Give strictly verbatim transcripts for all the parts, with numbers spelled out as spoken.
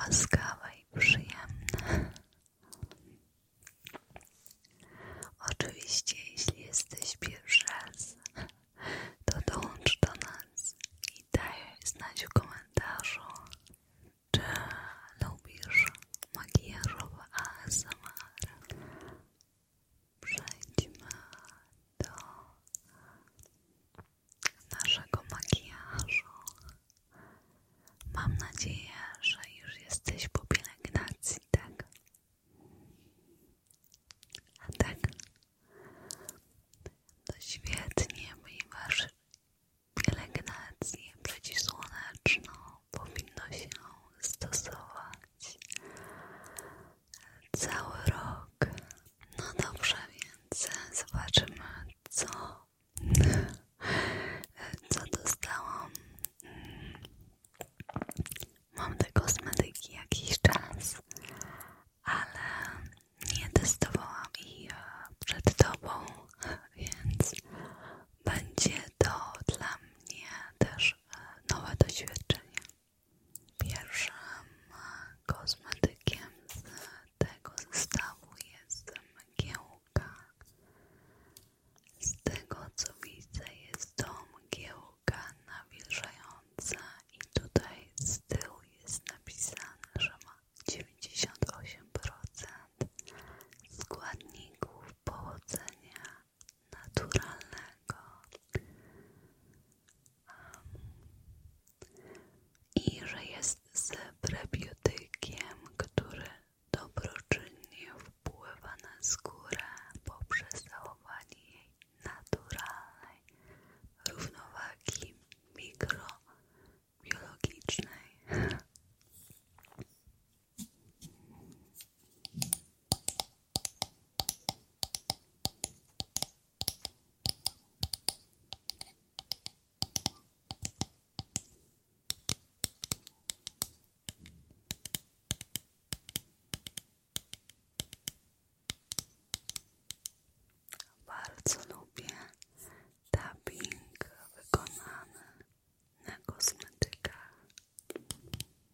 łaskawe i przyjemne. Oczywiście, jeśli jesteś pierwszy raz, to dołącz do nas i daj znać w komentarzu, czy lubisz makijażowe A S M R. Przejdźmy do naszego makijażu. Mam nadzieję, że już jesteś po pielęgnacji, tak? A tak? To świetnie, ponieważ pielęgnację przeciwsłoneczną powinno się stosować cały rok. No dobrze, więc zobaczymy, co, co dostałam. Mam te kosmetyki jakiś czas, ale nie testowałam ich przed tobą, więc będzie to dla mnie też nowe doświadczenie. Pierwszym kosmetykiem z tego zestawu jest mgiełka. Z tego co widzę, jest to mgiełka nawilżająca i tutaj z tyłu jest napisane, że ma dziewięćdziesiąt osiem procent składników pochodzenia naturalnego i że jest z prebiotykiem, który dobroczynnie wpływa na skórę poprzez zachowanie jej naturalnej równowagi mikrobiologicznej. Bardzo lubię tapping wykonany na kosmetykach.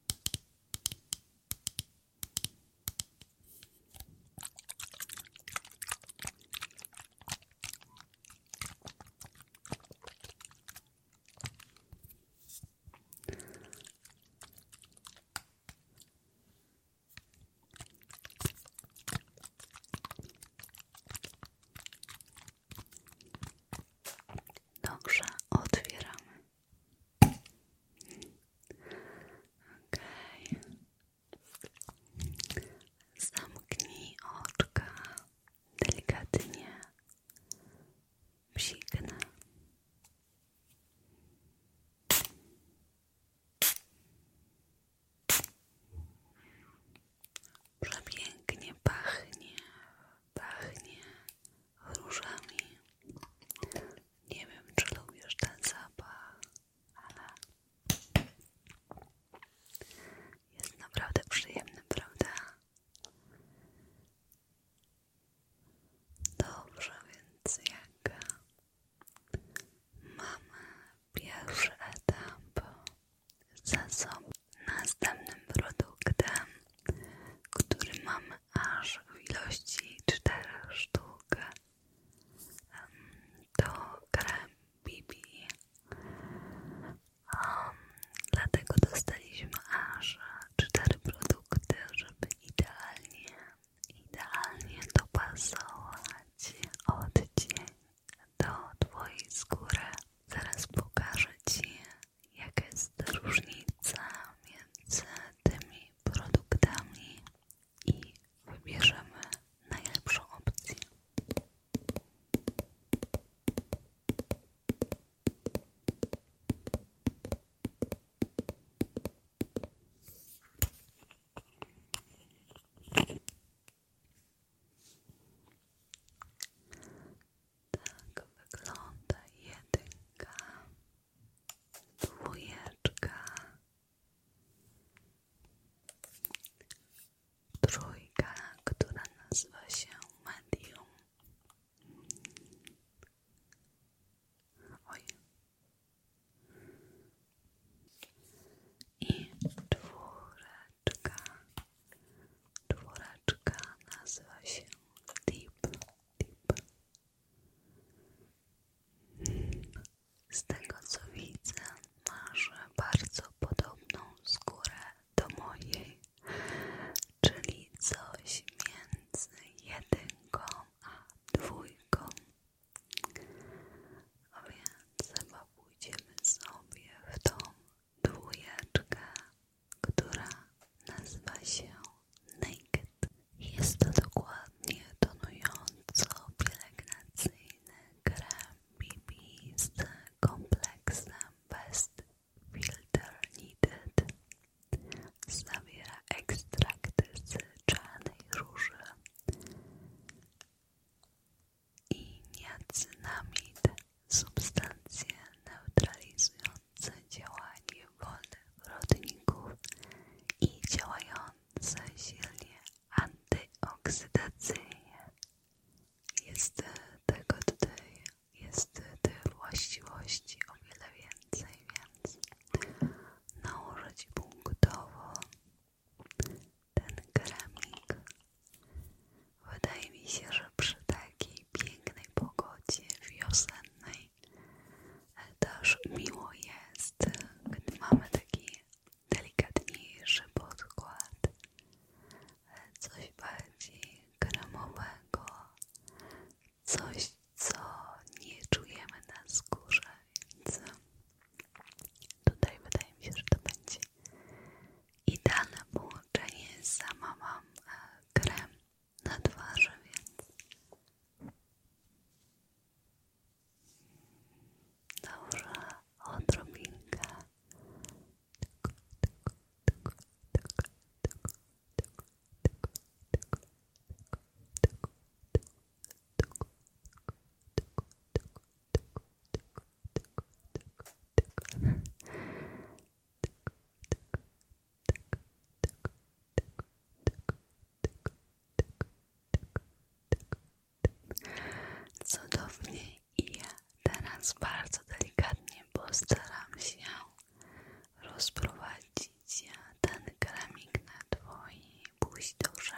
teraz bardzo delikatnie postaram się rozprowadzić ten kremik na twojej buzi, dobrze?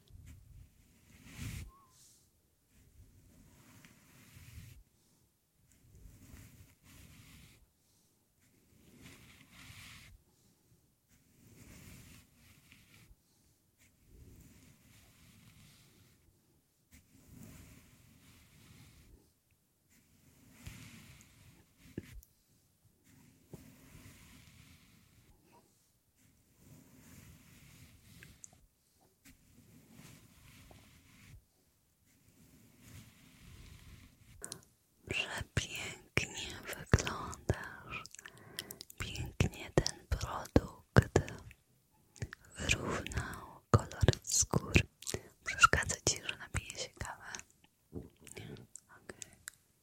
Przepięknie wyglądasz. Pięknie ten produkt wyrównał kolor skóry. Przeszkadza ci, że napiję się kawę? Nie? Okej.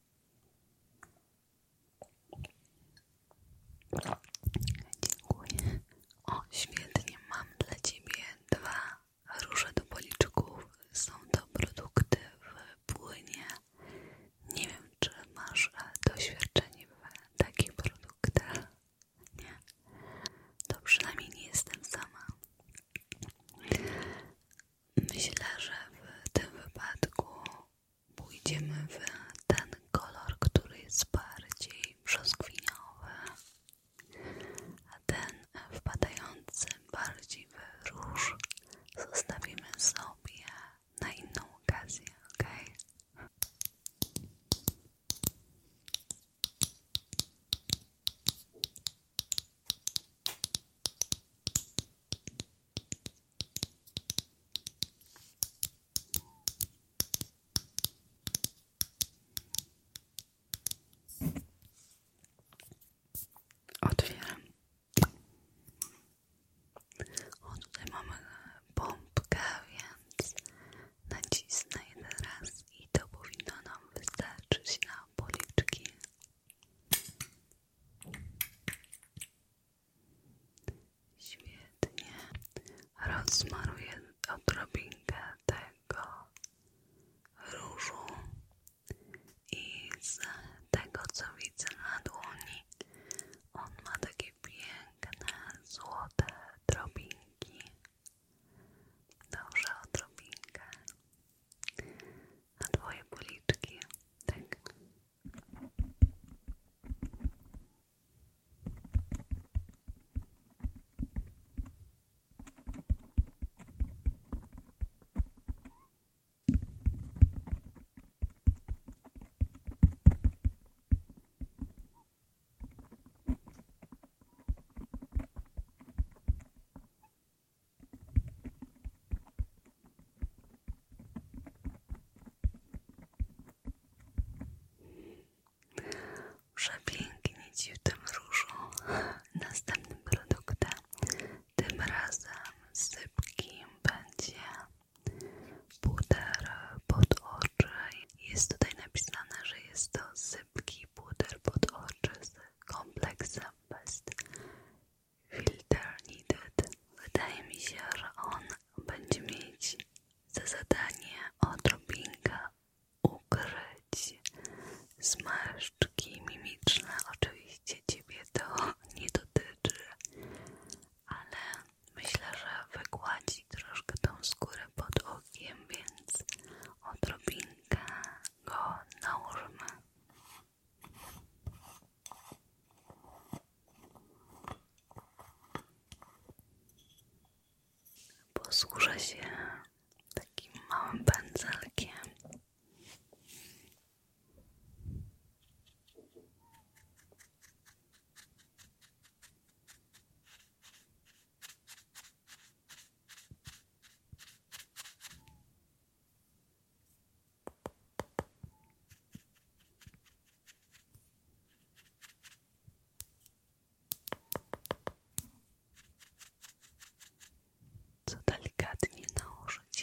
Dziękuję. O, świetnie. Mam dla ciebie dwa róże do policzków. Są to produkty w płynie. Nie wiem, czy masz doświadczenie w takich produktach. Nie? To przynajmniej nie jestem sama. Myślę, że w tym wypadku pójdziemy w ten kolor, który jest bardziej brzoskwiniowy, a ten wpadający bardziej w róż zostawimy sobie na inną okazję, ok? Otwieram. O, tutaj mamy pompkę, więc nacisnę jeden raz i to powinno nam wystarczyć na policzki. Świetnie. Rozmaruję odrobinkę tego różu i z tego, co widzę na dłoni, on ma takie piękne, złote drobinki. Dobrze, odrobinkę na twoje policzki. Tak. Przepięknie ci w tym różu. Następnym produktem, tym razem sypkim, będzie puder pod oczy. Jest tutaj napisane, że jest to sypki puder pod oczy z kompleksem Best Filter Needed. Wydaje mi się, że on będzie mieć za zadanie odrobinkę ukryć zmarszczki mimiczne. Oczywiście ciebie to nie dotyczy, ale myślę, że wygładzi troszkę tą skórę pod okiem, więc odrobinkę go nałożymy. Posłużę się takim małym pędzelkiem. Co delikatnie nałożyć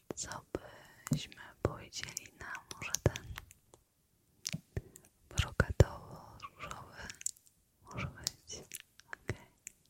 co byśmy powiedzieli na może ten brokatowo-różowy? Może być. Okay.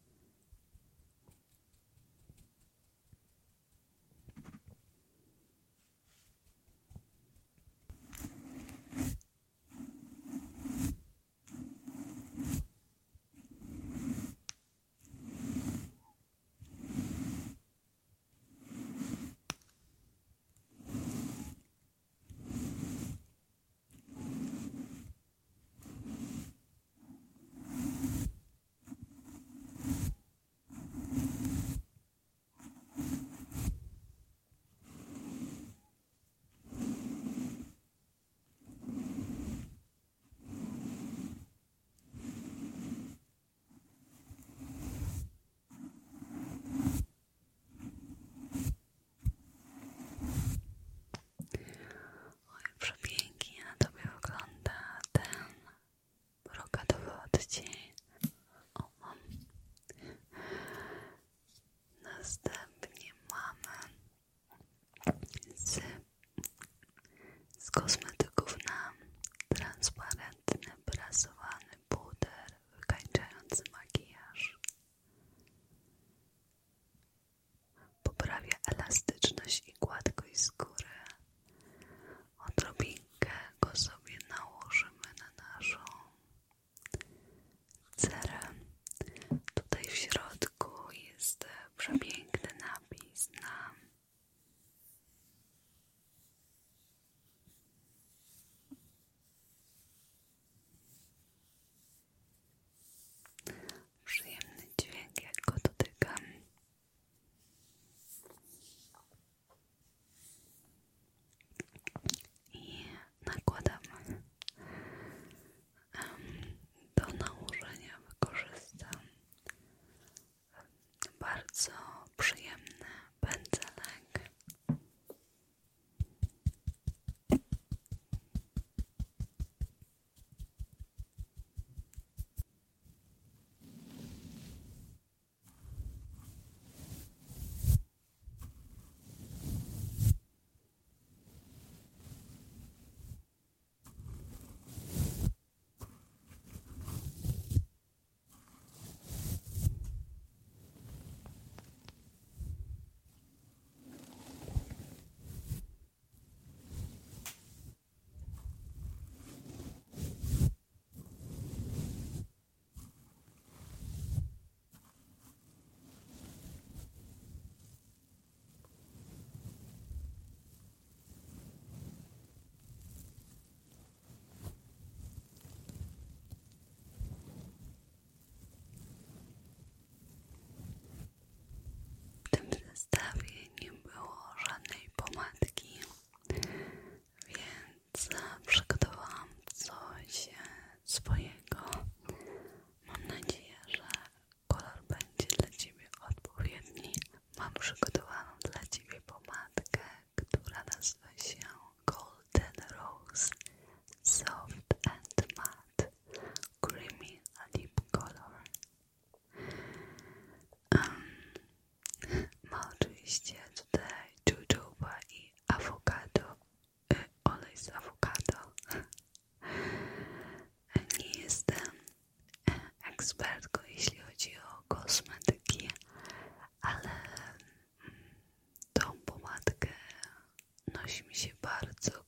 Przepięknie na tobie wygląda ten brokatowy odcień. O, mam. Następnie mamy z, z kosmetyków na transparentny, prasowany puder wykańczający makijaż. Poprawia elastyczność i gładkość skóry. Odrobinkę go sobie nałożymy na naszą cerę. Tutaj w środku jest przepiękny napis na przyjemny dźwięk, jak go dotykam. I nakładam. Do nałożenia wykorzystam bardzo przyjemny pędzelek. W tym zestawie nie było żadnej pomadki, więc przygotowałam coś swojego. Mam nadzieję, że kolor będzie dla Ciebie odpowiedni. Mam przygotowaną dla Ciebie pomadkę, która nazywa się Golden Rose Soft and Matte Creamy Lip Color. Um, ma oczywiście tutaj jojoba i awokado, y, olej z awokado. Nie jestem ekspertką, jeśli chodzi o kosmetyki, ale tą pomadkę nosi mi się bardzo